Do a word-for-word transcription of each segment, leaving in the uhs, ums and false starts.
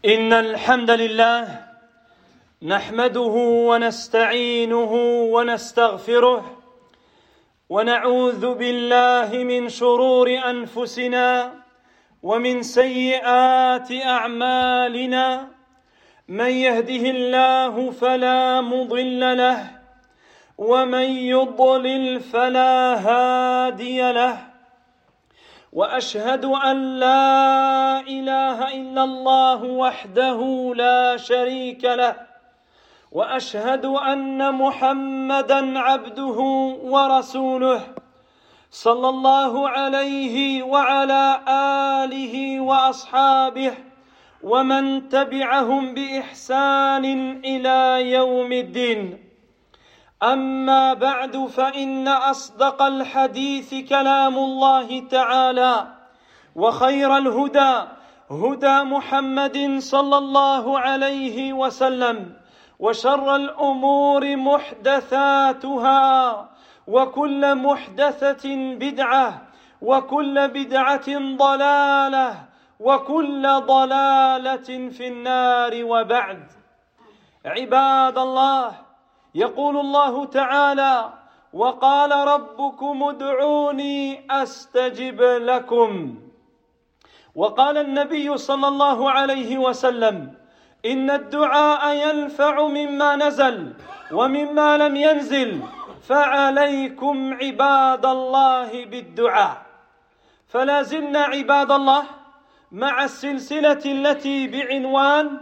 إن الحمد لله نحمده ونستعينه ونستغفره ونعوذ بالله من شرور أنفسنا ومن سيئات أعمالنا. من يهده الله فلا مضل له ومن يضلل فلا هادي له، وأشهد أن لا إله إلا الله وحده لا شريك له، وأشهد أن محمدًا عبده ورسوله صلى الله عليه وعلى آله وأصحابه ومن تبعهم بإحسان إلى يوم الدين. أما بعد، فإن أصدق الحديث كلام الله تعالى، وخير الهدى هدى محمد صلى الله عليه وسلم، وشر الأمور محدثاتها، وكل محدثة بدعة، وكل بدعة ضلالة، وكل ضلالة في النار. وبعد، عباد الله، يقول الله تعالى: وقال ربكم ادعوني أستجب لكم. وقال النبي صلى الله عليه وسلم: إن الدعاء ينفع مما نزل ومما لم ينزل، فعليكم عباد الله بالدعاء. فلا زلنا عباد الله مع السلسلة التي بعنوان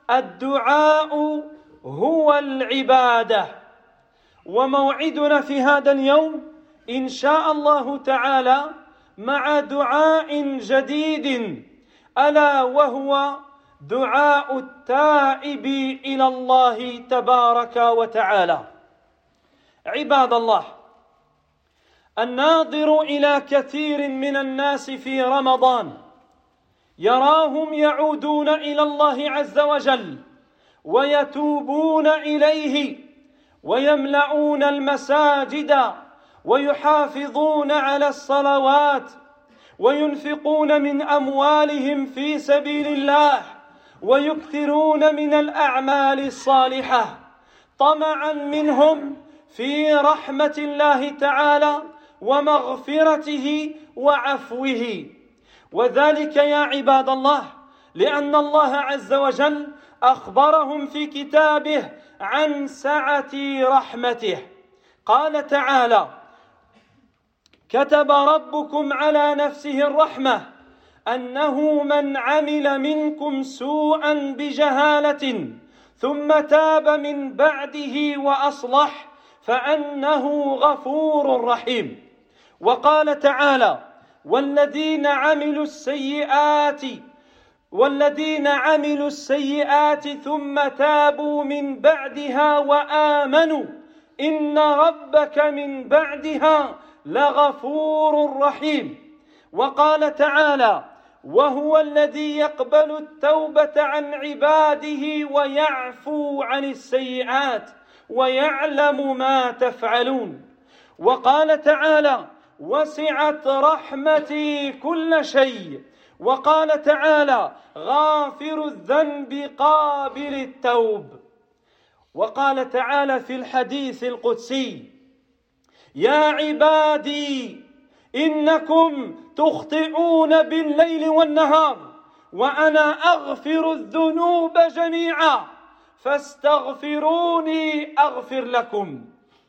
الدعاء هو العبادة، وموعدنا في هذا اليوم إن شاء الله تعالى مع دعاء جديد، ألا وهو دعاء التائب إلى الله تبارك وتعالى. عباد الله، الناظر إلى كثير من الناس في رمضان يراهم يعودون إلى الله عز وجل ويتوبون إليه ويملؤون المساجد ويحافظون على الصلوات وينفقون من أموالهم في سبيل الله ويكثرون من الأعمال الصالحة طمعا منهم في رحمة الله تعالى ومغفرته وعفوه. وذلك يا عباد الله لأن الله عز وجل أخبرهم في كتابه عن سعة رحمته. قال تعالى: كتب ربكم على نفسه الرحمة أنه من عمل منكم سوءا بجهالة ثم تاب من بعده وأصلح فأنه غفور رحيم. وقال تعالى: والذين عملوا السيئات والذين عملوا السيئات ثم تابوا من بعدها وآمنوا إن ربك من بعدها لغفور رحيم. وقال تعالى: وهو الذي يقبل التوبة عن عباده ويعفو عن السيئات ويعلم ما تفعلون. وقال تعالى: وسعت رحمتي كل شيء. وقال تعالى: غافر الذنب قابل التوب. وقال تعالى في الحديث القدسي: يا عبادي إنكم تخطئون بالليل والنهار وأنا أغفر الذنوب جميعا فاستغفروني أغفر لكم.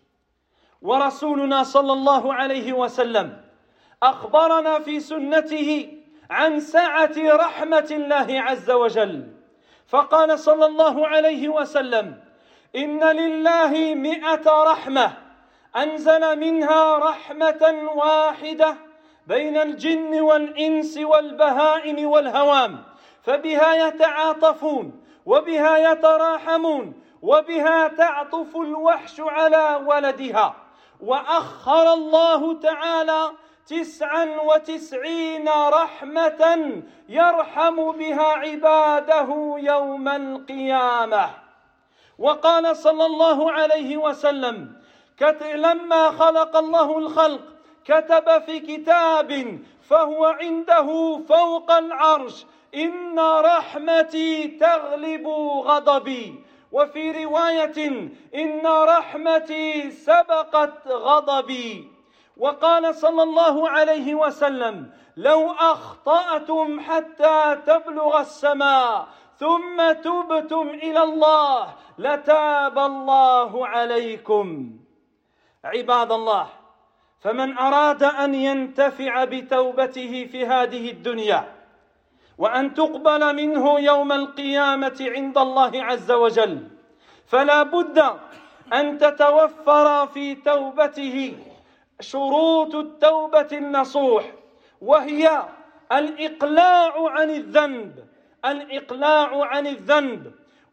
ورسولنا صلى الله عليه وسلم أخبرنا في سنته عن سعة رحمة الله عز وجل، فقال صلى الله عليه وسلم: إن لله مئة رحمة أنزل منها رحمة واحدة بين الجن والإنس والبهائم والهوام، فبها يتعاطفون وبها يتراحمون وبها تعطف الوحش على ولدها. وأخر الله تعالى تسعا وتسعين رحمة يرحم بها عباده يوم القيامة. وقال صلى الله عليه وسلم: لما خلق الله الخلق كتب في كتاب فهو عنده فوق العرش إن رحمتي تغلب غضبي، وفي رواية إن رحمتي سبقت غضبي. وقال صلى الله عليه وسلم لو أخطأتم حتى تبلغ السماء ثم تبتم إلى الله لتاب الله عليكم. عباد الله، فمن أراد أن ينتفع بتوبته في هذه الدنيا وأن تقبل منه يوم القيامة عند الله عز وجل، فلا بد أن تتوفر في توبته شروط التوبة النصوح، وهي الإقلاع عن الذنب الإقلاع عن الذنب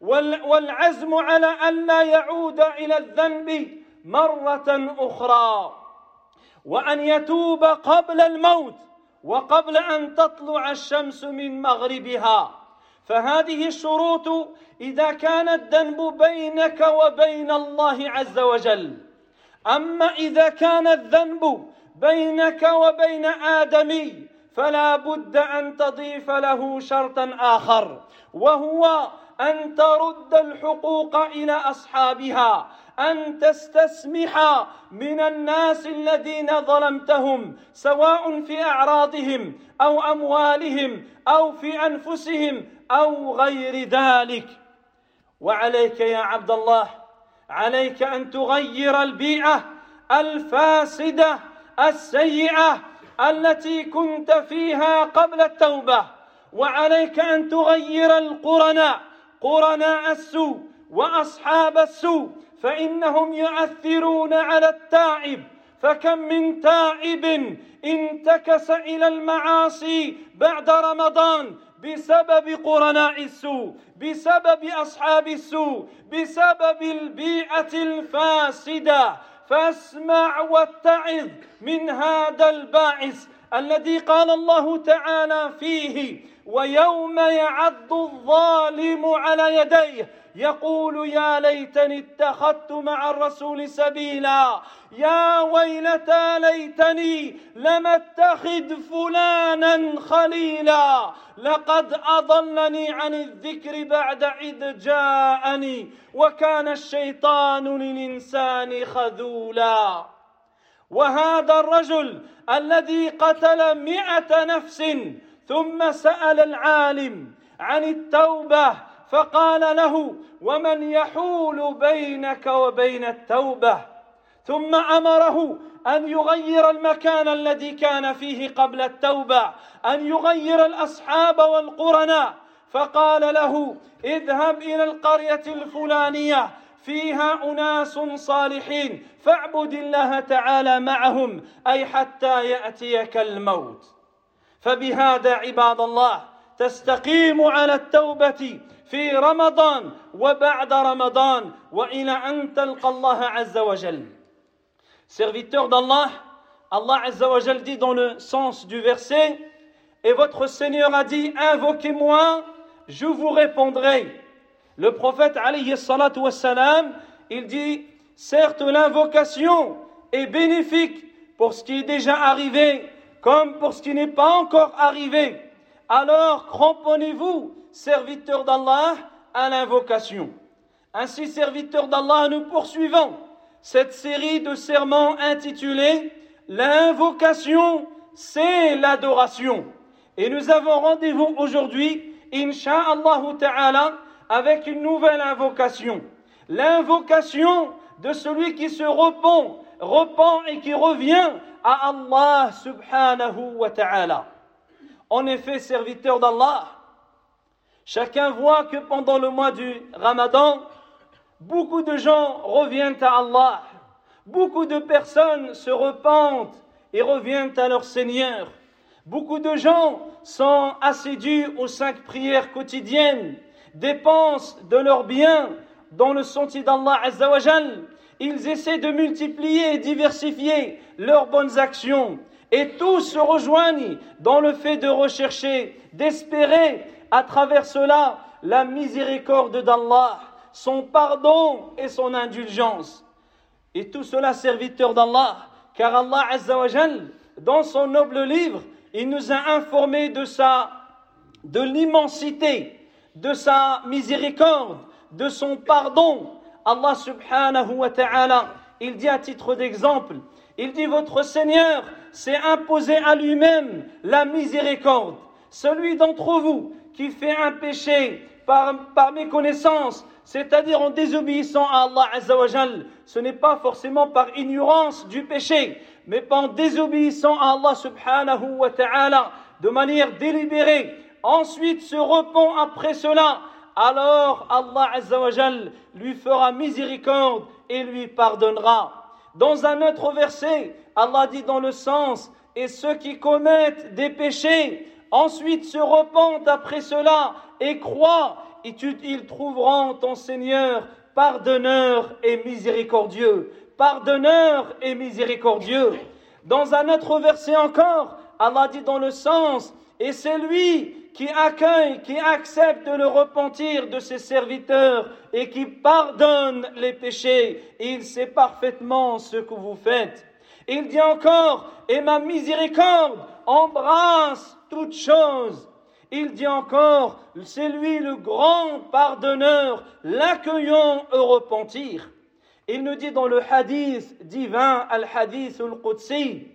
والعزم على أن لا يعود إلى الذنب مرة أخرى، وأن يتوب قبل الموت وقبل أن تطلع الشمس من مغربها. فهذه الشروط إذا كان الذنب بينك وبين الله عز وجل. أما إذا كان الذنب بينك وبين آدمي فلا بد أن تضيف له شرطا آخر، وهو أن ترد الحقوق إلى أصحابها، أن تستسمح من الناس الذين ظلمتهم سواء في أعراضهم أو أموالهم أو في أنفسهم أو غير ذلك. وعليك يا عبد الله، عليك أن تغير البيئة الفاسدة السيئة التي كنت فيها قبل التوبة، وعليك أن تغير القرناء قرناء السوء وأصحاب السوء، فإنهم يؤثرون على التائب. فكم من تائب انتكس إلى المعاصي بعد رمضان بسبب قرناء السوء، بسبب أصحاب السوء، بسبب البيئة الفاسدة. فاسمع واتعظ من هذا الباعث الذي قال الله تعالى فيه: ويوم يعض الظالم على يديه يقول يا ليتني اتخذت مع الرسول سبيلا، يا ويلتى ليتني لم اتخذ فلانا خليلا، لقد أضلني عن الذكر بعد إذ جاءني وكان الشيطان للإنسان خذولا. وهذا الرجل الذي قتل مئة نفس ثم سأل العالم عن التوبة فقال له: ومن يحول بينك وبين التوبة؟ ثم أمره أن يغير المكان الذي كان فيه قبل التوبة، أن يغير الأصحاب والقرناء، فقال له: اذهب إلى القرية الفلانية فيها أناس صالحين فاعبد الله تعالى معهم، أي حتى يأتيك الموت. فبهذا عباد الله تستقيم على التوبة في رمضان وبعد رمضان وإلى أن تلقى الله عز وجل. Serviteur d'Allah, Allah Azza wa Jal dit dans le sens du verset: et votre Seigneur a dit, invoquez-moi, je vous répondrai. Le prophète alayhi salatu wassalam, il dit, certes l'invocation est bénéfique pour ce qui est déjà arrivé comme pour ce qui n'est pas encore arrivé. Alors cramponnez-vous, serviteurs d'Allah, à l'invocation. Ainsi, serviteurs d'Allah, nous poursuivons cette série de sermons intitulée L'invocation, c'est l'adoration. Et nous avons rendez-vous aujourd'hui, Inch'Allah Ta'ala, avec une nouvelle invocation. L'invocation de celui qui se repent, repent et qui revient à Allah Subhanahu wa Ta'ala. En effet, serviteurs d'Allah, chacun voit que pendant le mois du Ramadan, beaucoup de gens reviennent à Allah. Beaucoup de personnes se repentent et reviennent à leur Seigneur. Beaucoup de gens sont assidus aux cinq prières quotidiennes, dépensent de leurs biens dans le sentier d'Allah Azza wa Jal. Ils essaient de multiplier et diversifier leurs bonnes actions. Et tous se rejoignent dans le fait de rechercher, d'espérer à travers cela la miséricorde d'Allah, son pardon et son indulgence. Et tout cela, serviteurs d'Allah, car Allah Azza wa Jal, dans son noble livre, il nous a informé de sa, de l'immensité, de sa miséricorde, de son pardon. Allah subhanahu wa ta'ala, il dit à titre d'exemple, il dit votre Seigneur s'est imposé à lui-même la miséricorde. Celui d'entre vous qui fait un péché par, par méconnaissance, c'est-à-dire en désobéissant à Allah Azza wa Jal, ce n'est pas forcément par ignorance du péché, mais en désobéissant à Allah subhanahu wa ta'ala de manière délibérée, ensuite se repent après cela, alors Allah Azza wa Jal lui fera miséricorde et lui pardonnera. Dans un autre verset, Allah dit dans le sens, et ceux qui commettent des péchés, ensuite se repentent après cela et croient, ils trouveront ton Seigneur pardonneur et miséricordieux. Pardonneur et miséricordieux. Dans un autre verset encore, Allah dit dans le sens, et c'est lui qui accueille, qui accepte le repentir de ses serviteurs et qui pardonne les péchés. Il sait parfaitement ce que vous faites. Il dit encore, et ma miséricorde embrasse toutes choses. Il dit encore, c'est lui le grand pardonneur, l'accueillant au repentir. Il nous dit dans le hadith divin, al-hadith al-Qudsi,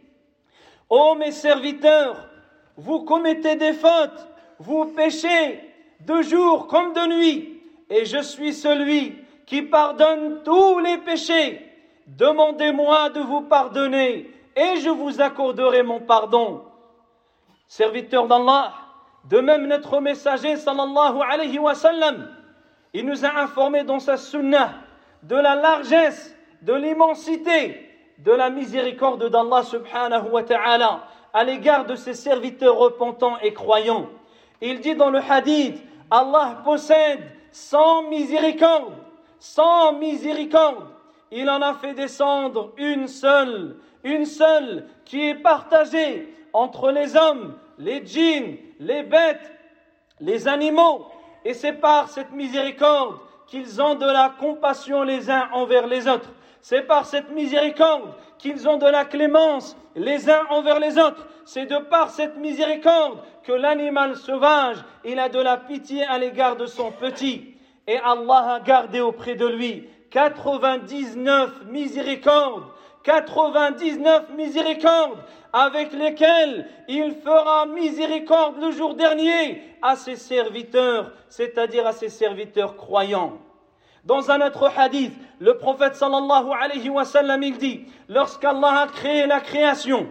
ô mes serviteurs, vous commettez des fautes, vous péchez de jour comme de nuit, et je suis celui qui pardonne tous les péchés. Demandez-moi de vous pardonner, et je vous accorderai mon pardon. Serviteurs d'Allah, de même notre messager sallallahu alayhi wa sallam, il nous a informé dans sa sunnah de la largesse, de l'immensité, de la miséricorde d'Allah subhanahu wa ta'ala à l'égard de ses serviteurs repentants et croyants. Il dit dans le hadith, Allah possède sans miséricorde, sans miséricorde. Il en a fait descendre une seule, une seule qui est partagée entre les hommes, les djinns, les bêtes, les animaux. Et c'est par cette miséricorde qu'ils ont de la compassion les uns envers les autres. C'est par cette miséricorde qu'ils ont de la clémence les uns envers les autres. C'est de par cette miséricorde que l'animal sauvage, il a de la pitié à l'égard de son petit. Et Allah a gardé auprès de lui quatre-vingt-dix-neuf miséricordes, quatre-vingt-dix-neuf miséricordes avec lesquelles il fera miséricorde le jour dernier à ses serviteurs, c'est-à-dire à ses serviteurs croyants. Dans un autre hadith, le prophète sallallahu alayhi wa sallam, il dit, lorsqu'Allah a créé la création,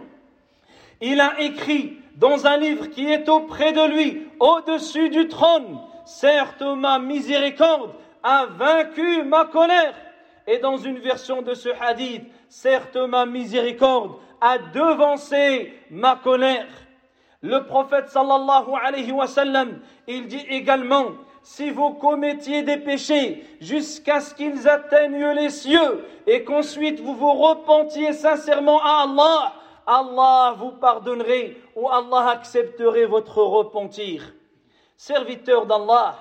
il a écrit dans un livre qui est auprès de lui, au-dessus du trône, certes ma miséricorde a vaincu ma colère. Et dans une version de ce hadith, certes ma miséricorde a devancé ma colère. Le prophète sallallahu alayhi wa sallam, il dit également, si vous commettiez des péchés jusqu'à ce qu'ils atteignent les cieux et qu'ensuite vous vous repentiez sincèrement à Allah, Allah vous pardonnerait ou Allah accepterait votre repentir. Serviteur d'Allah,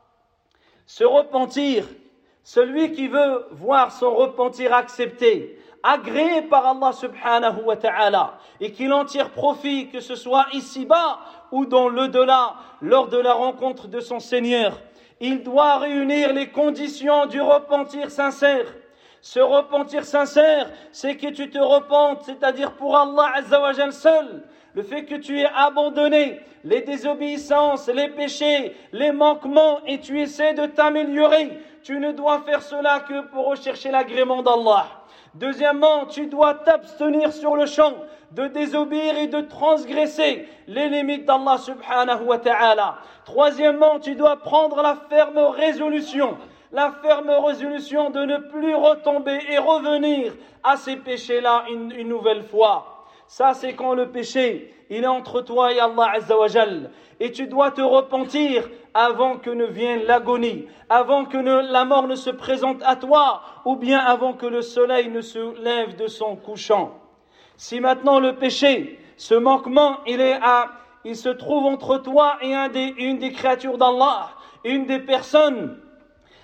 se repentir, celui qui veut voir son repentir accepté, agréé par Allah subhanahu wa ta'ala, et qu'il en tire profit, que ce soit ici-bas ou dans l'au-delà, lors de la rencontre de son Seigneur, il doit réunir les conditions du repentir sincère. Ce repentir sincère, c'est que tu te repentes, c'est-à-dire pour Allah Azza wa Jal seul. Le fait que tu aies abandonné les désobéissances, les péchés, les manquements et tu essaies de t'améliorer. Tu ne dois faire cela que pour rechercher l'agrément d'Allah. Deuxièmement, tu dois t'abstenir sur le champ de désobéir et de transgresser les limites d'Allah subhanahu wa ta'ala. Troisièmement, tu dois prendre la ferme résolution, la ferme résolution de ne plus retomber et revenir à ces péchés-là une, une nouvelle fois. Ça, c'est quand le péché, il est entre toi et Allah Azza wa Jal. Et tu dois te repentir avant que ne vienne l'agonie, avant que ne, la mort ne se présente à toi, ou bien avant que le soleil ne se lève de son couchant. Si maintenant le péché, ce manquement, il est à, il se trouve entre toi et un des, une des créatures d'Allah, une des personnes,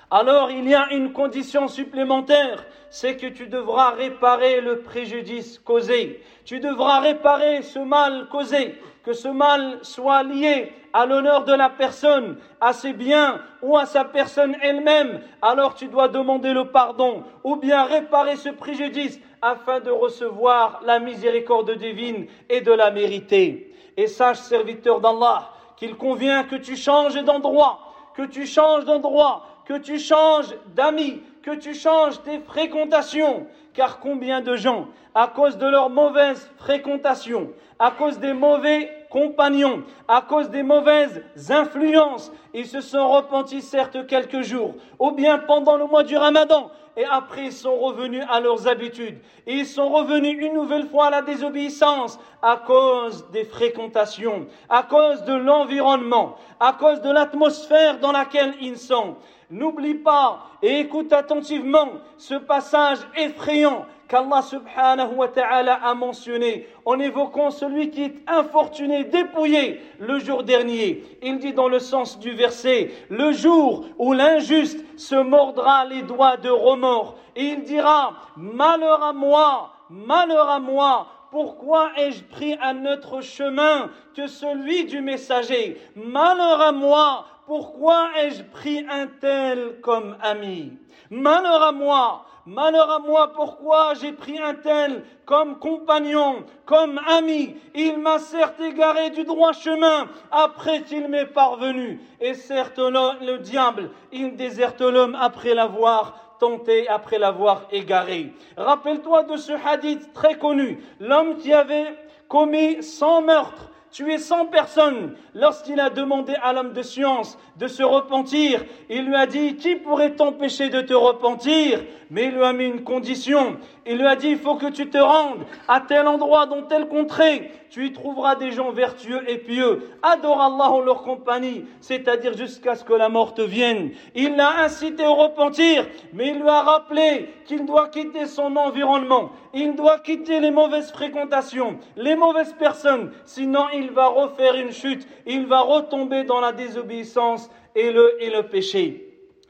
alors il y a une condition supplémentaire, c'est que tu devras réparer le préjudice causé. Tu devras réparer ce mal causé, que ce mal soit lié à l'honneur de la personne, à ses biens ou à sa personne elle-même. Alors tu dois demander le pardon ou bien réparer ce préjudice afin de recevoir la miséricorde divine et de la mériter. Et sache, serviteur d'Allah, qu'il convient que tu changes d'endroit, que tu changes d'endroit, que tu changes d'amis, que tu changes tes fréquentations. Car combien de gens, à cause de leur mauvaise fréquentation, à cause des mauvais compagnons, à cause des mauvaises influences, ils se sont repentis certes quelques jours, ou bien pendant le mois du Ramadan, et après ils sont revenus à leurs habitudes. Et ils sont revenus une nouvelle fois à la désobéissance à cause des fréquentations, à cause de l'environnement, à cause de l'atmosphère dans laquelle ils sont. N'oublie pas et écoute attentivement ce passage effrayant qu'Allah subhanahu wa ta'ala a mentionné en évoquant celui qui est infortuné, dépouillé le jour dernier. Il dit dans le sens du verset, le jour où l'injuste se mordra les doigts de remords et il dira, malheur à moi, malheur à moi, pourquoi ai-je pris un autre chemin que celui du messager? Malheur à moi, pourquoi ai-je pris un tel comme ami? Malheur à moi, malheur à moi, pourquoi j'ai pris un tel comme compagnon, comme ami? Il m'a certes égaré du droit chemin après qu'il m'est parvenu. Et certes, le, le diable, il déserte l'homme après l'avoir tenté, après l'avoir égaré. Rappelle-toi de ce hadith très connu. L'homme qui avait commis cent meurtres, tué cent personnes, lorsqu'il a demandé à l'homme de science de se repentir, il lui a dit, qui pourrait t'empêcher de te repentir? Mais il lui a mis une condition. Il lui a dit, il faut que tu te rendes à tel endroit, dans telle contrée. Tu y trouveras des gens vertueux et pieux. Adore Allah en leur compagnie, c'est-à-dire jusqu'à ce que la mort te vienne. Il l'a incité au repentir, mais il lui a rappelé qu'il doit quitter son environnement. Il doit quitter les mauvaises fréquentations, les mauvaises personnes. Sinon, il va refaire une chute. Il va retomber dans la désobéissance et le, et le péché.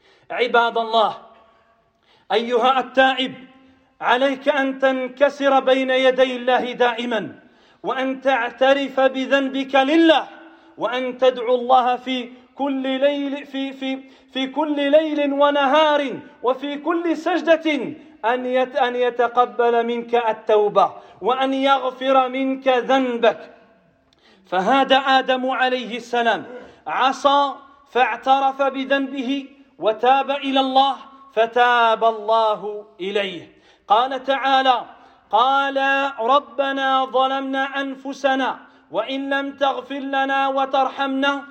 Ibadallah. أيها التائب عليك أن تنكسر بين يدي الله دائما وأن تعترف بذنبك لله وأن تدعو الله في كل ليل في في في كل ليل ونهار وفي كل سجدة أن أن يتقبل منك التوبة وأن يغفر منك ذنبك. فهذا آدم عليه السلام عصى فاعترف بذنبه وتاب إلى الله فتاب الله إليه. قال تعالى قال ربنا ظلمنا أنفسنا وإن لم تغفر لنا وترحمنا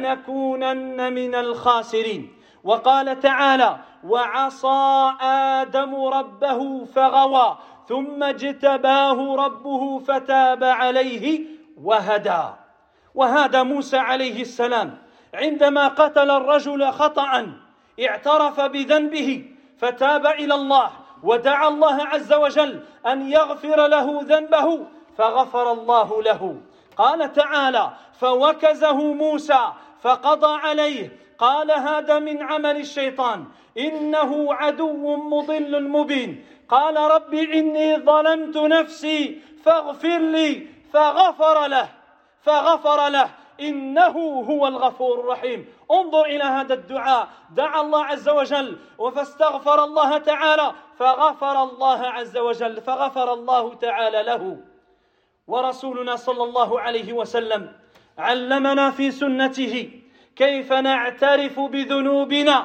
لنكونن من الخاسرين. وقال تعالى وعصى آدم ربه فغوى ثم اجتباه ربه فتاب عليه وهدى. وهذا موسى عليه السلام عندما قتل الرجل خطأ اعترف بذنبه فتاب إلى الله ودعا الله عز وجل أن يغفر له ذنبه فغفر الله له. قال تعالى فوكزه موسى فقضى عليه قال هذا من عمل الشيطان إنه عدو مضل مبين. قال رب إني ظلمت نفسي فاغفر لي فغفر له فغفر له إنه هو الغفور الرحيم. انظر إلى هذا الدعاء، دعا الله عز وجل فاستغفر الله تعالى فغفر الله عز وجل فغفر الله تعالى له. ورسولنا صلى الله عليه وسلم علمنا في سنته كيف نعترف بذنوبنا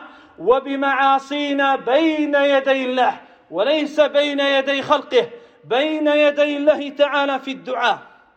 وبمعاصينا بين يدي الله وليس بين يدي خلقه، بين يدي الله تعالى في الدعاء.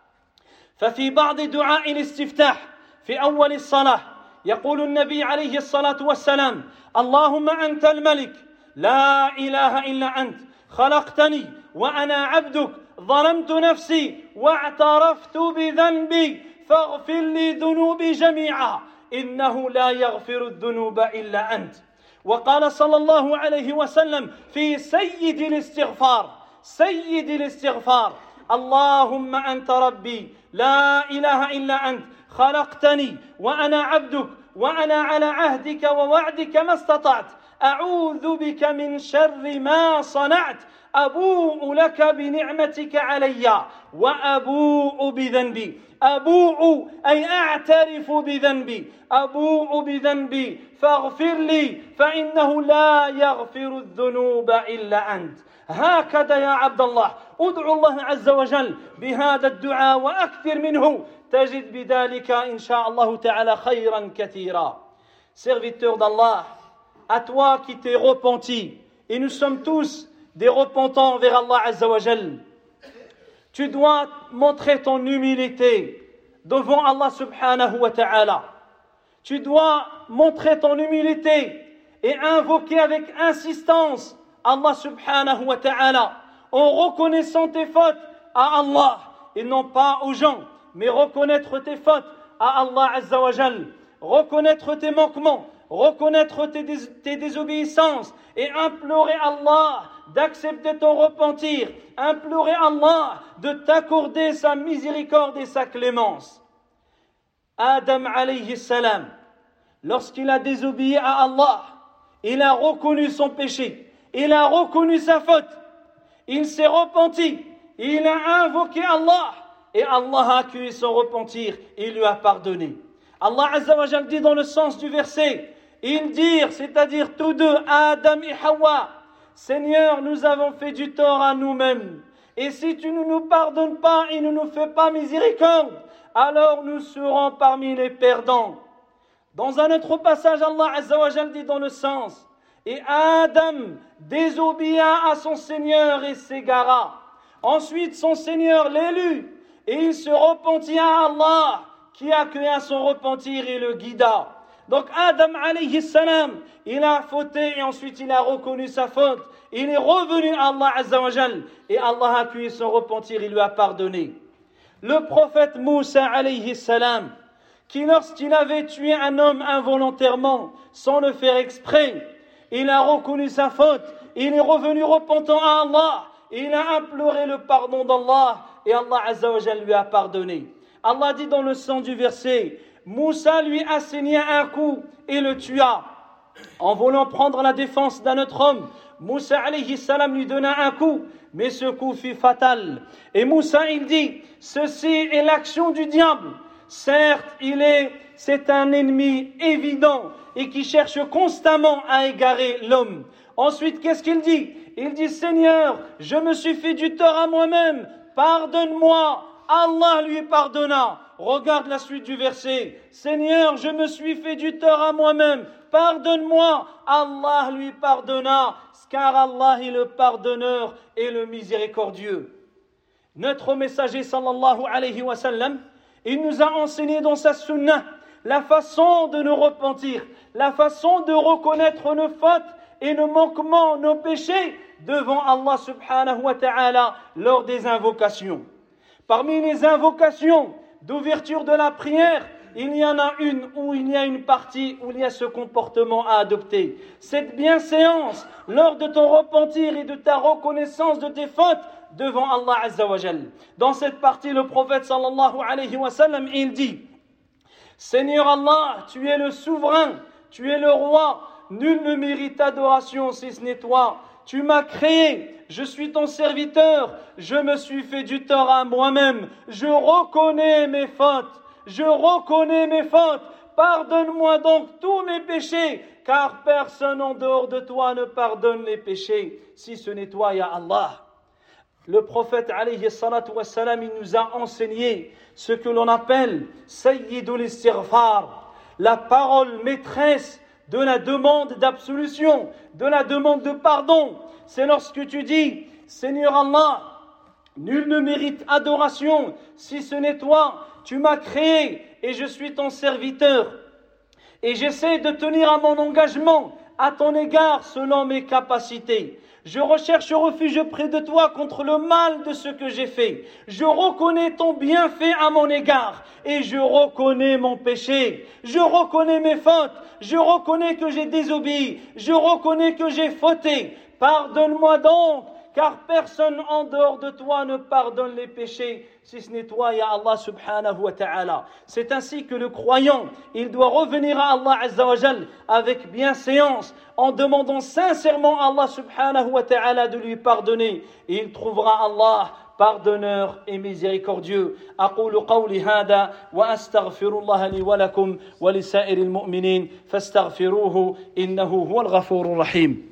ففي بعض دعاء الاستفتاح في أول الصلاة يقول النبي عليه الصلاة والسلام اللهم أنت الملك لا إله إلا أنت خلقتني وأنا عبدك ظلمت نفسي واعترفت بذنبي فاغفر لي ذنوبي جميعا إنه لا يغفر الذنوب إلا أنت. وقال صلى الله عليه وسلم في سيد الاستغفار سيد الاستغفار اللهم أنت ربي لا إله إلا أنت خلقتني وأنا عبدك وأنا على عهدك ووعدك ما استطعت أعوذ بك من شر ما صنعت أبوء لك بنعمتك علي وأبوء بذنبي. أبوء أي أعترف بذنبي، أبوء بذنبي فاغفر لي فإنه لا يغفر الذنوب إلا أنت. هكذا يا عبد الله ادعو الله عز وجل بهذا الدعاء وأكثر منه تجد بذلك إن شاء الله تعالى خيرا كثيرا. Serviteur d'Allah, à toi qui t'es repenti, et nous sommes tous des repentants vers Allah Azza wa Jal, tu dois montrer ton humilité devant Allah subhanahu wa ta'ala. Tu dois montrer ton humilité et invoquer avec insistance Allah subhanahu wa ta'ala en reconnaissant tes fautes à Allah et non pas aux gens, mais reconnaître tes fautes à Allah Azza wa Jal, reconnaître tes manquements, reconnaître tes, dés- tes désobéissances et implorer Allah d'accepter ton repentir, implorer Allah de t'accorder sa miséricorde et sa clémence. Adam alayhi salam, lorsqu'il a désobéi à Allah, il a reconnu son péché, il a reconnu sa faute, il s'est repenti, il a invoqué Allah et Allah a accueilli son repentir et lui a pardonné. Allah Azza wa Jal dit dans le sens du verset, ils dirent, c'est-à-dire tous deux, Adam et Hawa, Seigneur, nous avons fait du tort à nous-mêmes. Et si tu ne nous pardonnes pas et ne nous fais pas miséricorde, alors nous serons parmi les perdants. Dans un autre passage, Allah Azza wa Jal dit dans le sens, et Adam désobéia à son Seigneur et s'égara. Ensuite, son Seigneur l'élut et il se repentit à Allah qui accueilla son repentir et le guida. Donc Adam alayhi salam, il a fauté et ensuite il a reconnu sa faute. Il est revenu à Allah Azza wa Jal et Allah a accueilli son repentir, il lui a pardonné. Le prophète Moussa alayhi salam, qui lorsqu'il avait tué un homme involontairement, sans le faire exprès, il a reconnu sa faute, il est revenu repentant à Allah, il a imploré le pardon d'Allah et Allah Azza wa Jal lui a pardonné. Allah dit dans le sens du verset, Moussa lui assigna un coup et le tua. En voulant prendre la défense d'un autre homme, Moussa alayhi salam lui donna un coup, mais ce coup fut fatal. Et Moussa il dit, ceci est l'action du diable. Certes, il est, c'est un ennemi évident et qui cherche constamment à égarer l'homme. Ensuite, qu'est-ce qu'il dit? Il dit, Seigneur, je me suis fait du tort à moi-même, pardonne-moi. Allah lui pardonna. Regarde la suite du verset. Seigneur, je me suis fait du tort à moi-même, pardonne-moi. Allah lui pardonna, car Allah est le pardonneur et le miséricordieux. Notre messager sallallahu alayhi wa sallam, il nous a enseigné dans sa sunnah la façon de nous repentir, la façon de reconnaître nos fautes et nos manquements, nos péchés devant Allah subhanahu wa ta'ala lors des invocations. Parmi les invocations d'ouverture de la prière, il y en a une où il y a une partie où il y a ce comportement à adopter. Cette bienséance lors de ton repentir et de ta reconnaissance de tes fautes devant Allah Azza wa Jal. Dans cette partie, le prophète sallallahu alayhi wa sallam, il dit, Seigneur Allah, tu es le souverain, tu es le roi, nul ne mérite adoration si ce n'est toi. Tu m'as créé, je suis ton serviteur, je me suis fait du tort à moi-même, je reconnais mes fautes, je reconnais mes fautes, pardonne-moi donc tous mes péchés, car personne en dehors de toi ne pardonne les péchés, si ce n'est toi, ya Allah. Le prophète alayhi salatu wa salam, il nous a enseigné ce que l'on appelle Sayyidul Istighfar, la parole maîtresse de la demande d'absolution, de la demande de pardon. C'est lorsque tu dis, Seigneur Allah, nul ne mérite adoration si ce n'est toi, tu m'as créé et je suis ton serviteur. Et j'essaie de tenir à mon engagement à ton égard selon mes capacités. Je recherche refuge près de toi contre le mal de ce que j'ai fait. Je reconnais ton bienfait à mon égard et je reconnais mon péché. Je reconnais mes fautes. Je reconnais que j'ai désobéi. Je reconnais que j'ai fauté. Pardonne-moi donc, car personne en dehors de toi ne pardonne les péchés, si ce n'est toi, ya Allah subhanahu wa ta'ala. C'est ainsi que le croyant, il doit revenir à Allah azza wa jal avec bienséance, en demandant sincèrement à Allah subhanahu wa ta'ala de lui pardonner. Et il trouvera Allah pardonneur et miséricordieux. أقول قولي هذا وأستغفر الله لي ولكم ولسائر المؤمنين فاستغفروه إنه هو الغفور الرحيم.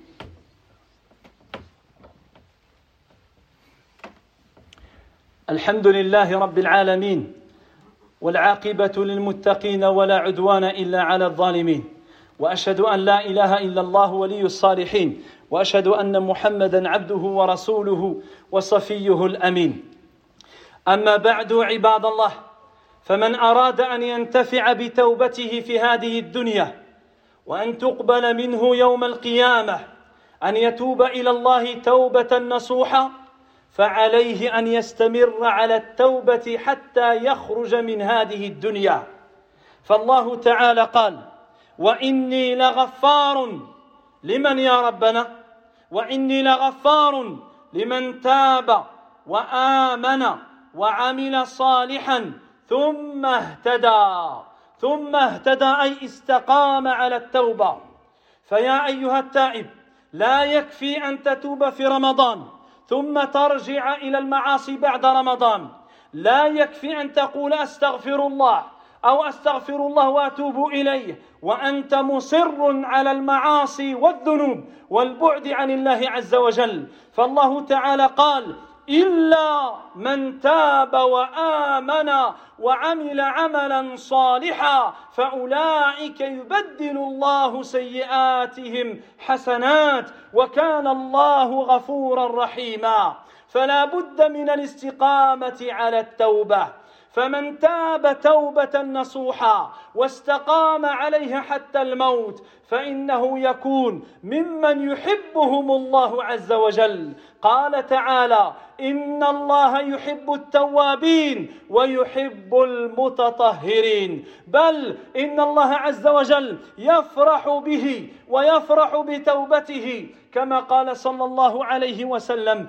الحمد لله رب العالمين والعاقبة للمتقين ولا عدوان إلا على الظالمين وأشهد أن لا إله إلا الله ولي الصالحين وأشهد أن محمدًا عبده ورسوله وصفيه الأمين. أما بعد عباد الله، فمن أراد أن ينتفع بتوبته في هذه الدنيا وأن تقبل منه يوم القيامة أن يتوب إلى الله توبة نصوحة، فعليه أن يستمر على التوبة حتى يخرج من هذه الدنيا. فالله تعالى قال: وإني لغفار لمن يا ربنا وإني لغفار لمن تاب وآمن وعمل صالحا ثم اهتدى ثم اهتدى أي استقام على التوبة. فيا أيها التائب، لا يكفي أن تتوب في رمضان ثم ترجع إلى المعاصي بعد رمضان. لا يكفي أن تقول أستغفر الله أو أستغفر الله وأتوب إليه وأنت مصر على المعاصي والذنوب والبعد عن الله عز وجل. فالله تعالى قال: إلا من تاب وآمن وعمل عملا صالحا فأولئك يبدل الله سيئاتهم حسنات وكان الله غفورا رحيما. فلا بد من الاستقامة على التوبة، فمن تاب توبة نصوحا واستقام عليها حتى الموت فإنه يكون ممن يحبهم الله عز وجل. قال تعالى: إن الله يحب التوابين ويحب المتطهرين. بل إن الله عز وجل يفرح به ويفرح بتوبته، كما قال صلى الله عليه وسلم: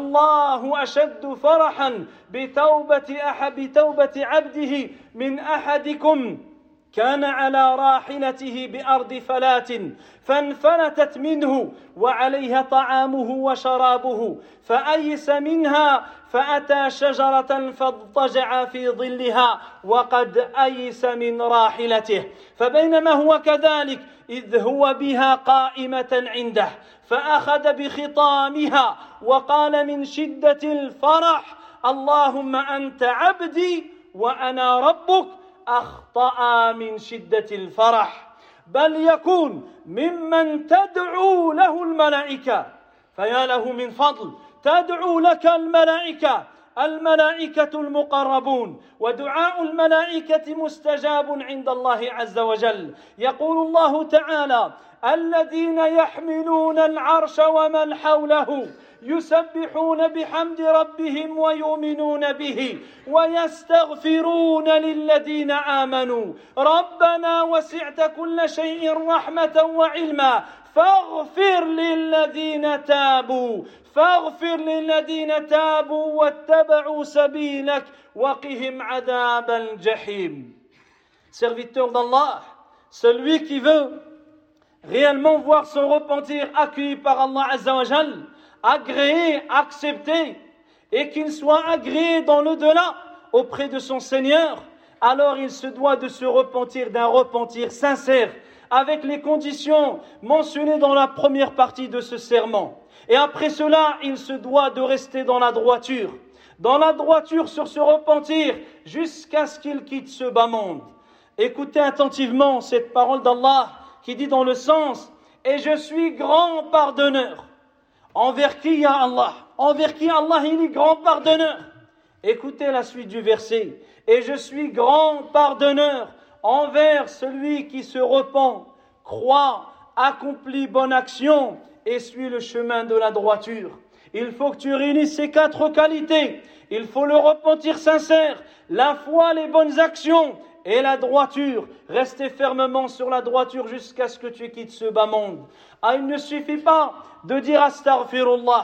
لله أشد فرحا بتوبة أحد بتوبة عبده من أحدكم كان على راحلته بأرض فلات فانفلتت منه وعليها طعامه وشرابه فأيس منها فأتى شجرة فاضطجع في ظلها وقد أيس من راحلته، فبينما هو كذلك إذ هو بها قائمة عنده فأخذ بخطامها وقال من شدة الفرح: اللهم أنت عبدي وأنا ربك، أخطأ من شدة الفرح. بل يكون ممن تدعو له الملائكة، فيا له من فضل تدعو لك الملائكة الملائكة المقربون، ودعاء الملائكة مستجاب عند الله عز وجل. يقول الله تعالى: الذين يحملون العرش ومن حوله يسبحون بحمد ربهم ويؤمنون به ويستغفرون للذين آمنوا ربنا وسعت كل شيء رحمة وعلما فاغفر للذين تابوا فاغفر للذين تابوا واتبعوا سبيلك وقهم عذاب الجحيم. Serviteur d'Allah, celui qui veut réellement voir son repentir accueilli par Allah Azza wa Jal, agréé, accepté, et qu'il soit agréé dans l'au-delà auprès de son Seigneur, alors il se doit de se repentir d'un repentir sincère, avec les conditions mentionnées dans la première partie de ce serment. Et après cela, il se doit de rester dans la droiture, dans la droiture sur ce repentir, jusqu'à ce qu'il quitte ce bas monde. Écoutez attentivement cette parole d'Allah qui dit dans le sens: et je suis grand pardonneur. Envers qui y a Allah? Envers qui Allah il est grand pardonneur? Écoutez la suite du verset: et je suis grand pardonneur envers celui qui se repent, croit, accomplit bonne action et suit le chemin de la droiture. Il faut que tu réunisses ces quatre qualités. Il faut le repentir sincère, la foi, les bonnes actions et la droiture. Restez fermement sur la droiture jusqu'à ce que tu quittes ce bas monde. Ah, il ne suffit pas de dire astaghfirullah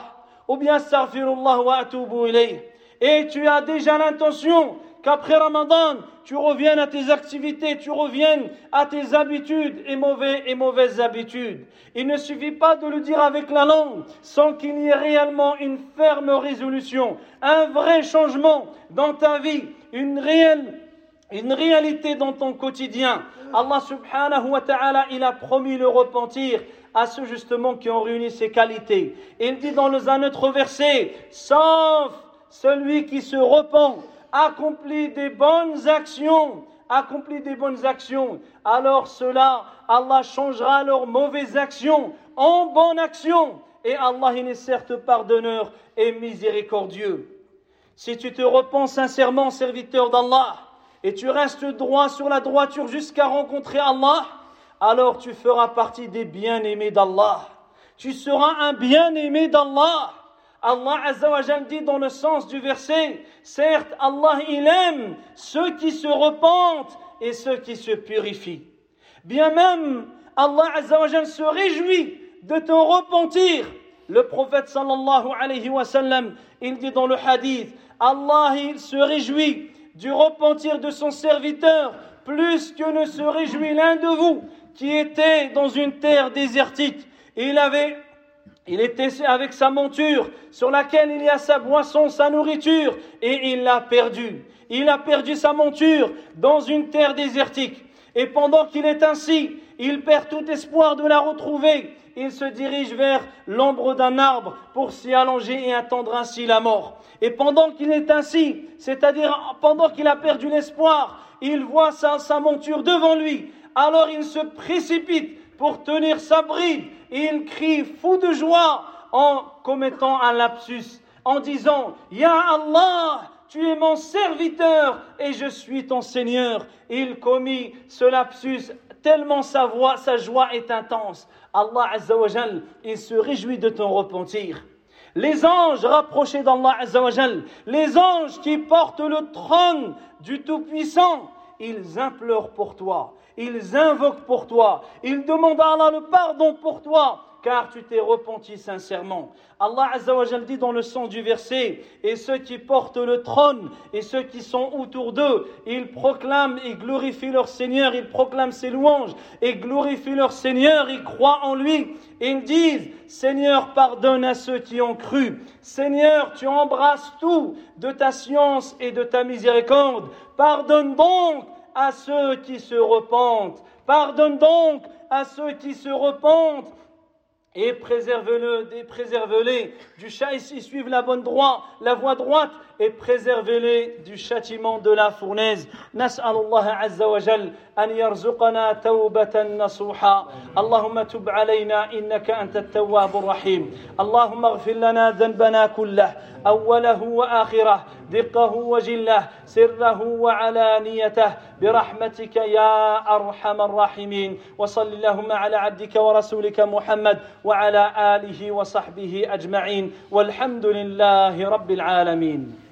ou bien astaghfirullah wa atubu ilayh. Et tu as déjà l'intention qu'après Ramadan, tu reviennes à tes activités, tu reviennes à tes habitudes et, mauvais, et mauvaises habitudes. Il ne suffit pas de le dire avec la langue sans qu'il y ait réellement une ferme résolution, un vrai changement dans ta vie, une réelle, une réalité dans ton quotidien. Allah subhanahu wa ta'ala, il a promis le repentir à ceux justement qui ont réuni ces qualités. Il dit dans un autre verset, sauf celui qui se repent, accomplit des bonnes actions, accomplit des bonnes actions, alors cela, Allah changera leurs mauvaises actions en bonnes actions. Et Allah, il est certes pardonneur et miséricordieux. Si tu te repens sincèrement, serviteur d'Allah, et tu restes droit sur la droiture jusqu'à rencontrer Allah, alors tu feras partie des bien-aimés d'Allah. Tu seras un bien-aimé d'Allah. Allah Azza wa Jal dit dans le sens du verset, certes Allah il aime ceux qui se repentent et ceux qui se purifient. Bien même Allah Azza wa Jal se réjouit de ton repentir. Le prophète sallallahu alayhi wa sallam, il dit dans le hadith, Allah il se réjouit du repentir de son serviteur plus que ne se réjouit l'un de vous qui était dans une terre désertique. Il avait Il était avec sa monture sur laquelle il y a sa boisson, sa nourriture, et il l'a perdue. Il a perdu sa monture dans une terre désertique. Et pendant qu'il est ainsi, il perd tout espoir de la retrouver. Il se dirige vers l'ombre d'un arbre pour s'y allonger et attendre ainsi la mort. Et pendant qu'il est ainsi, c'est-à-dire pendant qu'il a perdu l'espoir, il voit sa, sa monture devant lui. Alors il se précipite pour tenir sa bride. Et il crie fou de joie en commettant un lapsus, en disant « Ya Allah, tu es mon serviteur et je suis ton Seigneur. » Il commit ce lapsus tellement sa voix, sa joie est intense. Allah Azza wa Jal, il se réjouit de ton repentir. Les anges rapprochés d'Allah Azza wa Jal, les anges qui portent le trône du Tout-Puissant, ils implorent pour toi. Ils invoquent pour toi. Ils demandent à Allah le pardon pour toi, car tu t'es repenti sincèrement. Allah Azza wa Jal dit dans le sens du verset, et ceux qui portent le trône et ceux qui sont autour d'eux, ils proclament et glorifient leur Seigneur, ils proclament ses louanges et glorifient leur Seigneur, ils croient en lui. Ils disent, Seigneur, pardonne à ceux qui ont cru. Seigneur, tu embrasses tout de ta science et de ta miséricorde. Pardonne donc à ceux qui se repentent. Pardonne donc à ceux qui se repentent. Et préservez-le, et préservez-les du châtiment, ils suivent la bonne droite, la voie droite, et préservez-les du châtiment de la fournaise. Nas'alullah azza wa jal an yarzuqana tawbatan nasuha. Allahumma tub alayna innaka anta at-tawwabur rahim. Allahumma ighfir lana dhanbana kullah, awwalahu wa akhirah, diqqahu wa jillah, sirrahu wa alaniyatah, برحمتك يا أرحم الراحمين. وصل اللهم على عبدك ورسولك محمد وعلى آله وصحبه أجمعين والحمد لله رب العالمين.